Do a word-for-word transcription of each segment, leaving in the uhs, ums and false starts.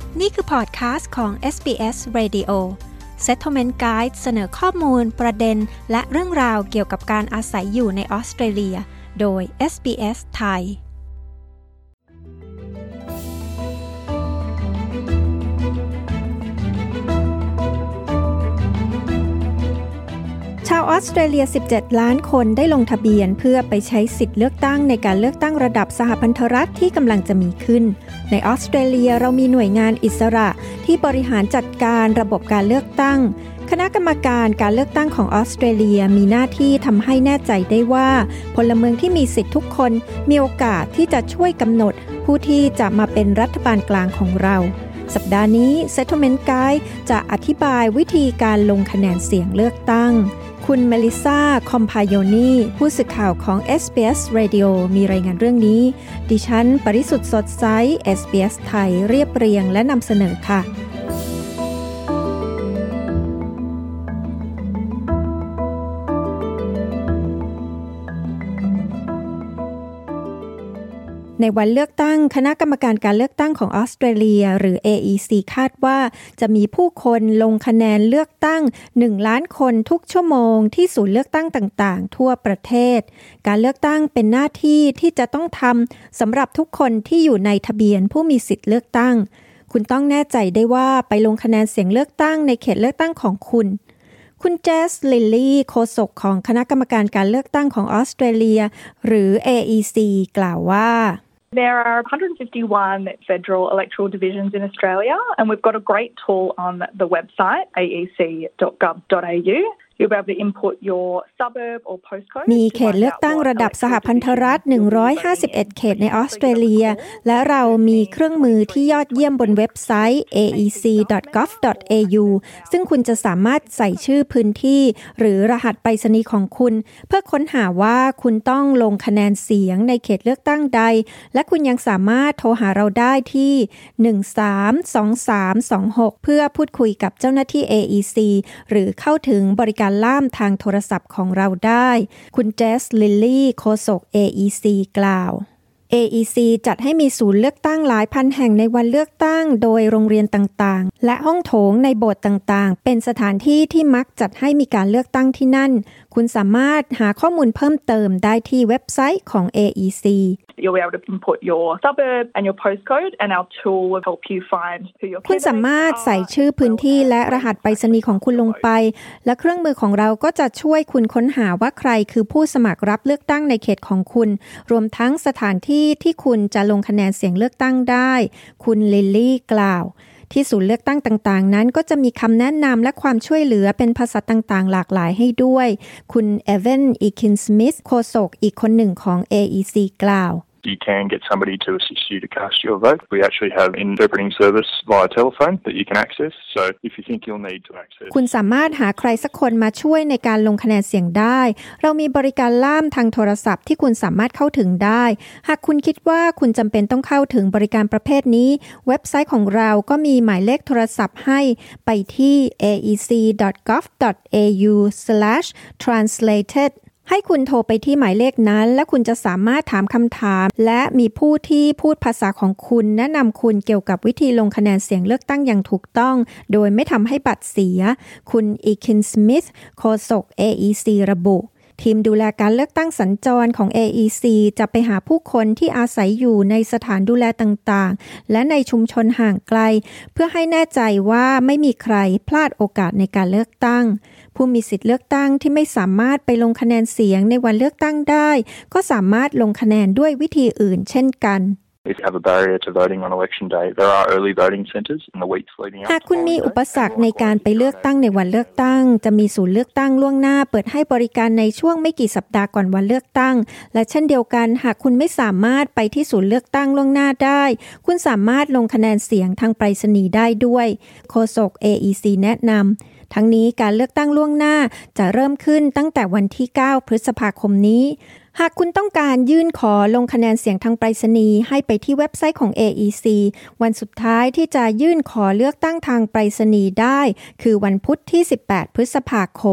นี่คือพอดคาสต์ของ เอส บี เอส Radio Settlement Guide เสนอข้อมูลประเด็นและเรื่องราวเกี่ยวกับการอาศัยอยู่ในออสเตรเลียโดย เอส บี เอส ไทยชาวออสเตรเลียสิบเจ็ดล้านคนได้ลงทะเบียนเพื่อไปใช้สิทธิ์เลือกตั้งในการเลือกตั้งระดับสหพันธรัฐที่กำลังจะมีขึ้นในออสเตรเลียเรามีหน่วยงานอิสระที่บริหารจัดการระบบการเลือกตั้งคณะกรรมการการเลือกตั้งของออสเตรเลียมีหน้าที่ทำให้แน่ใจได้ว่าพลเมืองที่มีสิทธิ์ทุกคนมีโอกาสที่จะช่วยกำหนดผู้ที่จะมาเป็นรัฐบาลกลางของเราสัปดาห์นี้ Settlement Guide จะอธิบายวิธีการลงคะแนนเสียงเลือกตั้งคุณเมลิซาคอมพายโยนีผู้สื่อข่าวของ เอส บี เอส Radio มีรายงานเรื่องนี้ดิฉันปริสุทธิ์สดใส เอส บี เอส ไทยเรียบเรียงและนำเสนอค่ะในวันเลือกตั้งคณะกรรมการการเลือกตั้งของออสเตรเลียหรือ เอ อี ซี คาดว่าจะมีผู้คนลงคะแนนเลือกตั้งหนึ่งล้านคนทุกชั่วโมงที่ศูนย์เลือกตั้งต่างๆทั่วประเทศการเลือกตั้งเป็นหน้าที่ที่จะต้องทำสำหรับทุกคนที่อยู่ในทะเบียนผู้มีสิทธิ์เลือกตั้งคุณต้องแน่ใจได้ว่าไปลงคะแนนเสียงเลือกตั้งในเขตเลือกตั้งของคุณคุณเจสลิลลี่โฆษกของคณะกรรมการการเลือกตั้งของออสเตรเลียหรือ เอ อี ซี กล่าวว่า There are one hundred fifty-one federal electoral divisions in Australia, and we've got a great tool on the website a e c dot gov dot a u. You'll be able to input your suburb or postcode. มีเขตเลือกตั้งระดับสหพันธรัฐหนึ่งร้อยห้าสิบเอ็ดเขตในออสเตรเลียและเรามีเครื่องมือที่ยอดเยี่ยมบนเว็บไซต์ เอ อี ซี ดอท กอฟ ดอท เอ ยู ซึ่งคุณจะสามารถใส่ชื่อพื้นที่หรือรหัสไปรษณีย์ของคุณเพื่อค้นหาว่าคุณต้องลงคะแนนเสียงในเขตเลือกตั้งใดและคุณยังสามารถโทรหาเราได้ที่หนึ่งสามสองสามสองหกเพื่อพูดคุยกับเจ้าหน้าที่ เอ อี ซี หรือเข้าถึงบริการล่ามทางโทรศัพท์ของเราได้คุณเจสลิลลี่โฆษก เอ อี ซี กล่าว เอ อี ซี จัดให้มีศูนย์เลือกตั้งหลายพันแห่งในวันเลือกตั้งโดยโรงเรียนต่างๆและห้องโถงในโบสถ์ต่างๆเป็นสถานที่ที่มักจัดให้มีการเลือกตั้งที่นั่นคุณสามารถหาข้อมูลเพิ่มเติมได้ที่เว็บไซต์ของ เอ อี ซี You'll be able to input your suburb and your postcode and our tool will help you find who your คุณสามารถใส่ชื่อพื้นที่และรหัสไปรษณีย์ของคุณลงไปและเครื่องมือของเราก็จะช่วยคุณค้นหาว่าใครคือผู้สมัครรับเลือกตั้งในเขตของคุณรวมทั้งสถานที่ที่คุณจะลงคะแนนเสียงเลือกตั้งได้คุณลิลลี่กล่าวที่ศูนย์เลือกตั้งต่างๆนั้นก็จะมีคำแนะนำและความช่วยเหลือเป็นภาษาต่างๆหลากหลายให้ด้วยคุณเอเวนอีคินสมิธโฆษกอีกคนหนึ่งของ เอ อี ซี กล่าว You can get somebody to assist you to cast your vote. We actually have an interpreting service via telephone that you can access. So if you think you'll need to access คุณสามารถหาใครสักคนมาช่วยในการลงคะแนนเสียงได้เรามีบริการล่ามทางโทรศัพท์ที่คุณสามารถเข้าถึงได้หากคุณคิดว่าคุณจำเป็นต้องเข้าถึงบริการประเภทนี้เว็บไซต์ของเราก็มีหมายเลขโทรศัพท์ให้ไปที่ เอ อี ซี ดอท กอฟ ดอท เอ ยู สแลช ทรานสเลเต็ดให้คุณโทรไปที่หมายเลขนั้นและคุณจะสามารถถามคำถามและมีผู้ที่พูดภาษาของคุณแนะนำคุณเกี่ยวกับวิธีลงคะแนนเสียงเลือกตั้งอย่างถูกต้องโดยไม่ทำให้บัตรเสียคุณอีคินสมิธโฆษก เอ อี ซี ระบุทีมดูแลการเลือกตั้งสัญจรของ เอ อี ซี จะไปหาผู้คนที่อาศัยอยู่ในสถานดูแลต่างๆและในชุมชนห่างไกลเพื่อให้แน่ใจว่าไม่มีใครพลาดโอกาสในการเลือกตั้งผู้มีสิทธิ์เลือกตั้งที่ไม่สามารถไปลงคะแนนเสียงในวันเลือกตั้งได้ก็สามารถลงคะแนนด้วยวิธีอื่นเช่นกัน If you have a barrier to voting on election day, there are early voting centres in the weeks leading up. หากคุณมีอุปสรรคในการไปเลือกตั้งในวันเลือกตั้งจะมีศูนย์เลือกตั้งล่วงหน้าเปิดให้บริการในช่วงไม่กี่สัปดาห์ก่อนวันเลือกตั้งและเช่นเดียวกันหากคุณไม่สามารถไปที่ศูนย์เลือกตั้งล่วงหน้าได้คุณสามารถลงคะแนนเสียงทางไปรษณีย์ได้ด้วยโฆษก เอ อี ซี แนะนำทั้งนี้การเลือกตั้งล่วงหน้าจะเริ่มขึ้นตั้งแต่วันที่เก้าพฤษภาคมนี้หากคุณต้องการยื่นขอลงคะแนนเสียงทางไปรษณีย์ให้ไปที่เว็บไซต์ของ เอ อี ซี วันสุดท้ายที่จะยื่นขอเลือกตั้งทางไปรษณีย์ได้คือวันพุธที่สิบแปดพฤษภาคม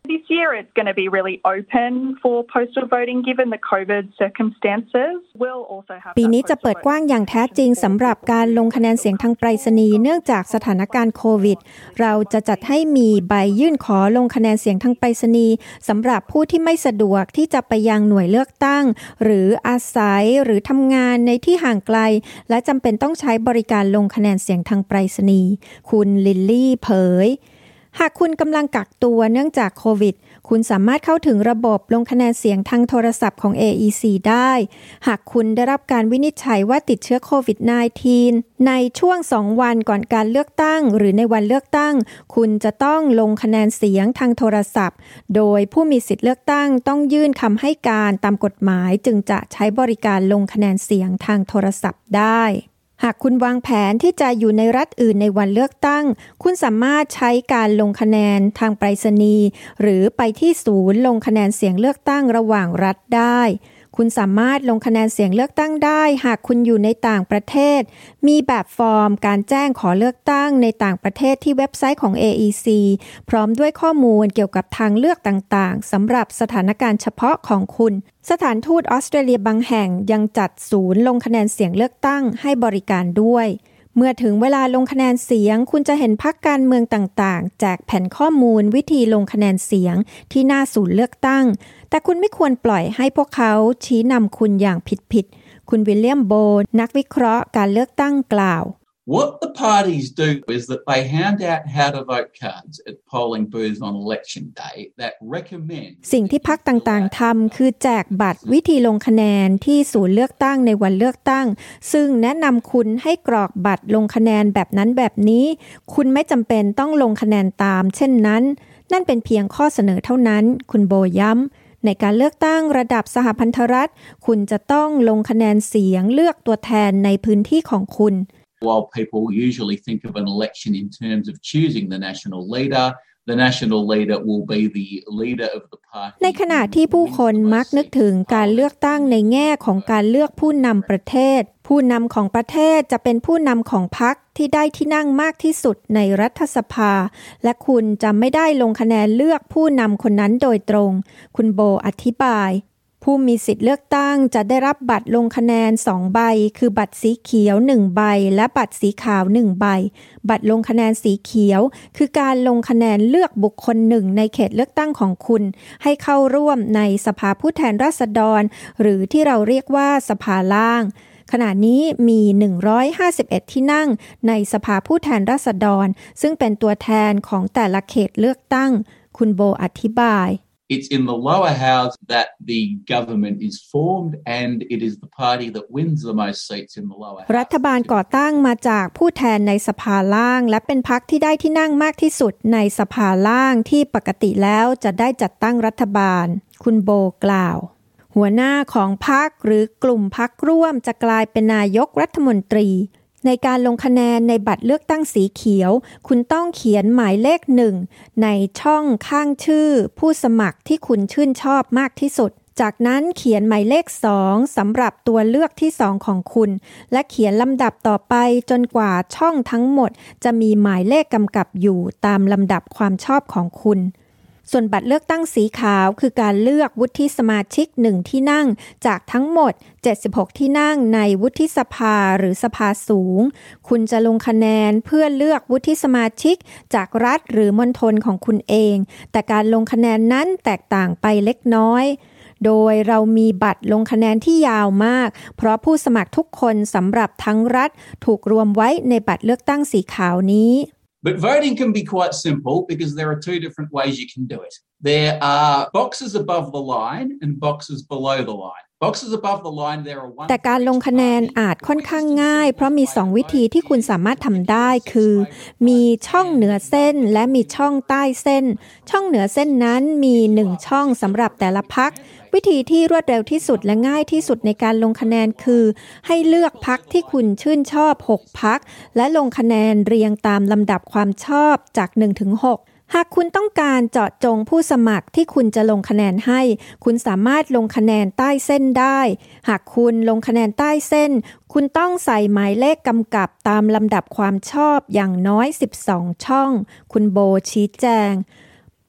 This year it's going to be really open for postal voting given the COVID circumstances. We'll also have ปีนี้จะเปิดกว้างอย่างแท้จริงสำหรับการลงคะแนนเสียงทางไปรษณีย์เนื่องจากสถานการณ์โควิดเราจะจัดให้มีใบยื่นขอลงคะแนนเสียงทางไปรษณีย์สำหรับผู้ที่ไม่สะดวกที่จะไปยังหน่วยเลือกตั้งหรืออาศัยหรือทำงานในที่ห่างไกลและจำเป็นต้องใช้บริการลงคะแนนเสียงทางไปรษณีย์คุณลิลลี่เผยหากคุณกำลังกักตัวเนื่องจากโควิดคุณสามารถเข้าถึงระบบลงคะแนนเสียงทางโทรศัพท์ของ เอ อี ซี ได้หากคุณได้รับการวินิจฉัยว่าติดเชื้อโควิด สิบเก้า ในช่วงสองวันก่อนการเลือกตั้งหรือในวันเลือกตั้งคุณจะต้องลงคะแนนเสียงทางโทรศัพท์โดยผู้มีสิทธิ์เลือกตั้งต้องยื่นคำให้การตามกฎหมายจึงจะใช้บริการลงคะแนนเสียงทางโทรศัพท์ได้หากคุณวางแผนที่จะอยู่ในรัฐอื่นในวันเลือกตั้งคุณสามารถใช้การลงคะแนนทางไปรษณีย์หรือไปที่ศูนย์ลงคะแนนเสียงเลือกตั้งระหว่างรัฐได้คุณสามารถลงคะแนนเสียงเลือกตั้งได้หากคุณอยู่ในต่างประเทศมีแบบฟอร์มการแจ้งขอเลือกตั้งในต่างประเทศที่เว็บไซต์ของ เอ อี ซี พร้อมด้วยข้อมูลเกี่ยวกับทางเลือกต่างๆสำหรับสถานการณ์เฉพาะของคุณสถานทูตออสเตรเลียบางแห่งยังจัดศูนย์ลงคะแนนเสียงเลือกตั้งให้บริการด้วยเมื่อถึงเวลาลงคะแนนเสียงคุณจะเห็นพรรคการเมืองต่างๆแจกแผ่นข้อมูลวิธีลงคะแนนเสียงที่หน้าศูนย์เลือกตั้งแต่คุณไม่ควรปล่อยให้พวกเขาชี้นำคุณอย่างผิดๆคุณวิลเลียมโบนักวิเคราะห์การเลือกตั้งกล่าว What the parties do is that they hand out how to vote cards at polling booths on election day that recommend สิ่งที่พรรคต่างๆทำคือแจกบัตรวิธีลงคะแนนที่ศูนย์เลือกตั้งในวันเลือกตั้งซึ่งแนะนำคุณให้กรอกบัตรลงคะแนนแบบนั้นแบบนี้คุณไม่จำเป็นต้องลงคะแนนตามเช่นนั้นนั่นเป็นเพียงข้อเสนอเท่านั้นคุณโบย้ำในการเลือกตั้งระดับสหพันธรัฐคุณจะต้องลงคะแนนเสียงเลือกตัวแทนในพื้นที่ของคุณ While people usually think of an election in terms of choosing the national leader, the national leader will be the leader of the party. ในขณะที่ผู้คนมักนึกถึงการเลือกตั้งในแง่ของการเลือกผู้นำประเทศผู้นำของประเทศจะเป็นผู้นำของพรรคที่ได้ที่นั่งมากที่สุดในรัฐสภาและคุณจะไม่ได้ลงคะแนนเลือกผู้นำคนนั้นโดยตรงคุณโบอธิบายผู้มีสิทธิ์เลือกตั้งจะได้รับบัตรลงคะแนนสองใบคือบัตรสีเขียวหนึ่งใบและบัตรสีขาวหนึ่งใบบัตรลงคะแนนสีเขียวคือการลงคะแนนเลือกบุคคลหนึ่งในเขตเลือกตั้งของคุณให้เข้าร่วมในสภาผู้แทนราษฎรหรือที่เราเรียกว่าสภาล่างขณะนี้มีหนึ่งร้อยห้าสิบเอ็ดที่นั่งในสภาผู้แทนราษฎรซึ่งเป็นตัวแทนของแต่ละเขตเลือกตั้งคุณโบอธิบาย It's in the lower house that the government is formed and it is the party that wins the most seats in the lower house. รัฐบาลก่อตั้งมาจากผู้แทนในสภาล่างและเป็นพรรคที่ได้ที่นั่งมากที่สุดในสภาล่างที่ปกติแล้วจะได้จัดตั้งรัฐบาลคุณโบกล่าวหัวหน้าของพรรคหรือกลุ่มพรรคร่วมจะกลายเป็นนายกรัฐมนตรีในการลงคะแนนในบัตรเลือกตั้งสีเขียวคุณต้องเขียนหมายเลขหนึ่งในช่องข้างชื่อผู้สมัครที่คุณชื่นชอบมากที่สุดจากนั้นเขียนหมายเลขสองสำหรับตัวเลือกที่สองของคุณและเขียนลำดับต่อไปจนกว่าช่องทั้งหมดจะมีหมายเลขกำกับอยู่ตามลำดับความชอบของคุณส่วนบัตรเลือกตั้งสีขาวคือการเลือกวุฒิสมาชิกหนึ่งที่นั่งจากทั้งหมดเจ็ดสิบหกที่นั่งในวุฒิสภาหรือสภาสูงคุณจะลงคะแนนเพื่อเลือกวุฒิสมาชิกจากรัฐหรือมณฑลของคุณเองแต่การลงคะแนนนั้นแตกต่างไปเล็กน้อยโดยเรามีบัตรลงคะแนนที่ยาวมากเพราะผู้สมัครทุกคนสำหรับทั้งรัฐถูกรวมไว้ในบัตรเลือกตั้งสีขาวนี้ But voting can be quite simple because there are two different ways you can do it. There are boxes above the line and boxes below the line. Boxes above the line there are one แต่การลงคะแนนอาจค่อนข้างง่ายเพราะมีสองวิธีที่คุณสามารถทำได้คือมีช่องเหนือเส้นและมีช่องใต้เส้นช่องเหนือเส้นนั้นมีหนึ่งช่องสำหรับแต่ละพรรควิธีที่รวดเร็วที่สุดและง่ายที่สุดในการลงคะแนนคือให้เลือกพรรคที่คุณชื่นชอบหกพรรคและลงคะแนนเรียงตามลำดับความชอบจากหนึ่งถึงหกหากคุณต้องการเจาะจงผู้สมัครที่คุณจะลงคะแนนให้คุณสามารถลงคะแนนใต้เส้นได้หากคุณลงคะแนนใต้เส้นคุณต้องใส่หมายเลขกำกับตามลำดับความชอบอย่างน้อยสิบสองช่องคุณโบชี้แจง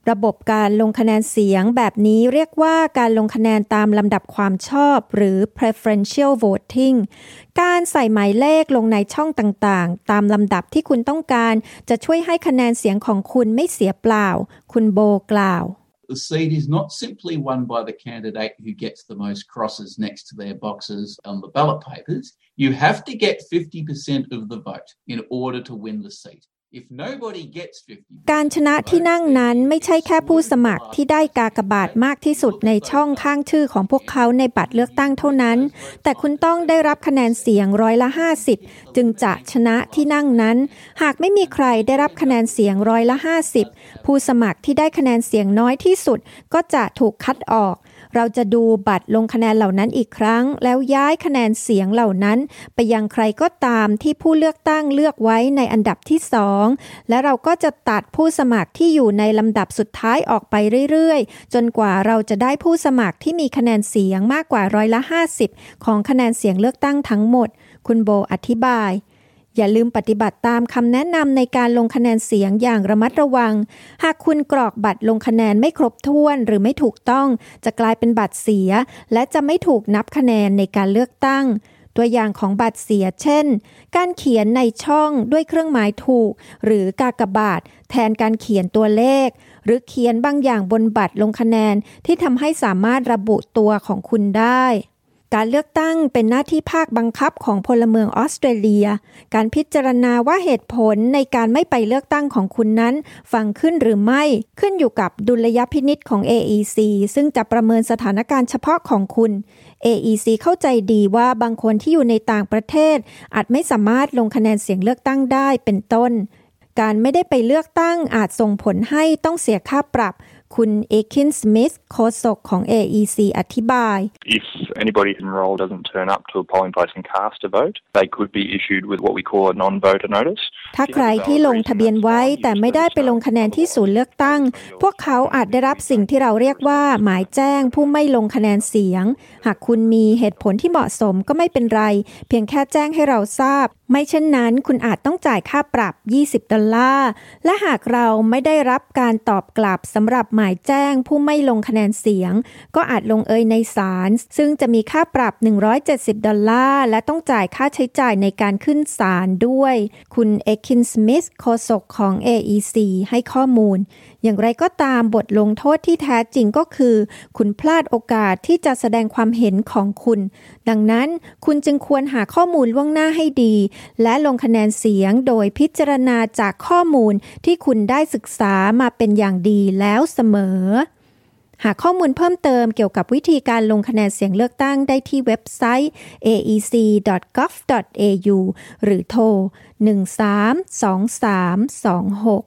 ระบบการลงคะแนนเสียงแบบนี้เรียกว่าการลงคะแนนตามลำดับความชอบหรือ preferential voting การใส่หมายเลขลงในช่องต่างๆตามลำดับที่คุณต้องการจะช่วยให้คะแนนเสียงของคุณไม่เสียเปล่าคุณโบกล่าว The seat is not simply won by the candidate who gets the most crosses next to their boxes on the ballot papers. You have to get fifty percent of the vote in order to win the seat.If nobody gets fifty การชนะที่นั่งนั้นไม่ใช่แค่ผู้สมัครที่ได้กากบาทมากที่สุดในช่องข้างชื่อของพวกเขาในบัตรเลือกตั้งเท่านั้นแต่คุณต้องได้รับคะแนนเสียงร้อยละห้าสิบจึงจะชนะที่นั่งนั้นหากไม่มีใครได้รับคะแนนเสียงร้อยละห้าสิบผู้สมัครที่ได้คะแนนเสียงน้อยที่สุดก็จะถูกคัดออกเราจะดูบัตรลงคะแนนเหล่านั้นอีกครั้งแล้วย้ายคะแนนเสียงเหล่านั้นไปยังใครก็ตามที่ผู้เลือกตั้งเลือกไว้ในอันดับที่สองและเราก็จะตัดผู้สมัครที่อยู่ในลำดับสุดท้ายออกไปเรื่อยๆจนกว่าเราจะได้ผู้สมัครที่มีคะแนนเสียงมากกว่าร้อยละห้าสิบของคะแนนเสียงเลือกตั้งทั้งหมดคุณโบอธิบายอย่าลืมปฏิบัติตามคำแนะนำในการลงคะแนนเสียงอย่างระมัดระวังหากคุณกรอกบัตรลงคะแนนไม่ครบถ้วนหรือไม่ถูกต้องจะกลายเป็นบัตรเสียและจะไม่ถูกนับคะแนนในการเลือกตั้งตัวอย่างของบัตรเสียเช่นการเขียนในช่องด้วยเครื่องหมายถูกหรือกากบาทแทนการเขียนตัวเลขหรือเขียนบางอย่างบนบัตรลงคะแนนที่ทำให้สามารถระบุตัวของคุณได้การเลือกตั้งเป็นหน้าที่ภาคบังคับของพลเมืองออสเตรเลียการพิจารณาว่าเหตุผลในการไม่ไปเลือกตั้งของคุณนั้นฟังขึ้นหรือไม่ขึ้นอยู่กับดุลยพินิจของ เอ อี ซี ซึ่งจะประเมินสถานการณ์เฉพาะของคุณ เอ อี ซี เข้าใจดีว่าบางคนที่อยู่ในต่างประเทศอาจไม่สามารถลงคะแนนเสียงเลือกตั้งได้เป็นต้นการไม่ได้ไปเลือกตั้งอาจส่งผลให้ต้องเสียค่าปรับคุณเอคินสมิธโฆษกของ เอ อี ซี อธิบาย If anybody enrolled doesn't turn up to a polling place and cast a vote, they could be issued with what we call a non-voter notice. ถ้าใครที่ลงทะเบียนไว้แต่ไม่ได้ไปลงคะแนนที่ศูนย์เลือกตั้งพวกเขาอาจได้รับสิ่งที่เราเรียกว่าหมายแจ้งผู้ไม่ลงคะแนนเสียงหากคุณมีเหตุผลที่เหมาะสมก็ไม่เป็นไรเพียงแค่แจ้งให้เราทราบไม่เช่นนั้นคุณอาจต้องจ่ายค่าปรับยี่สิบดอลลาร์และหากเราไม่ได้รับการตอบกลับสำหรับหมายแจ้งผู้ไม่ลงคะแนนเสียงก็อาจลงเอยในศาลซึ่งจะมีค่าปรับหนึ่งร้อยเจ็ดสิบดอลลาร์และต้องจ่ายค่าใช้จ่ายในการขึ้นศาลด้วยคุณเอคินสมิธโฆษกของ เอ อี ซี ให้ข้อมูลอย่างไรก็ตามบทลงโทษที่แท้จริงก็คือคุณพลาดโอกาสที่จะแสดงความเห็นของคุณดังนั้นคุณจึงควรหาข้อมูลล่วงหน้าให้ดีและลงคะแนนเสียงโดยพิจารณาจากข้อมูลที่คุณได้ศึกษามาเป็นอย่างดีแล้วเสมอหาข้อมูลเพิ่มเติมเกี่ยวกับวิธีการลงคะแนนเสียงเลือกตั้งได้ที่เว็บไซต์ เอ อี ซี ดอท กอฟ ดอท เอ ยู หรือโทรหนึ่งสามสองสามสองหก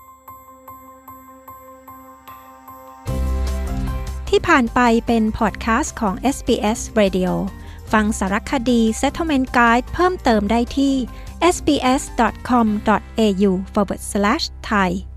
ที่ผ่านไปเป็นพอดแคสต์ของ เอส บี เอส Radio ฟังสารคดี Settlement Guide เพิ่มเติมได้ที่ เอส บี เอส ดอท คอม ดอท เอ ยู forward slash ไทย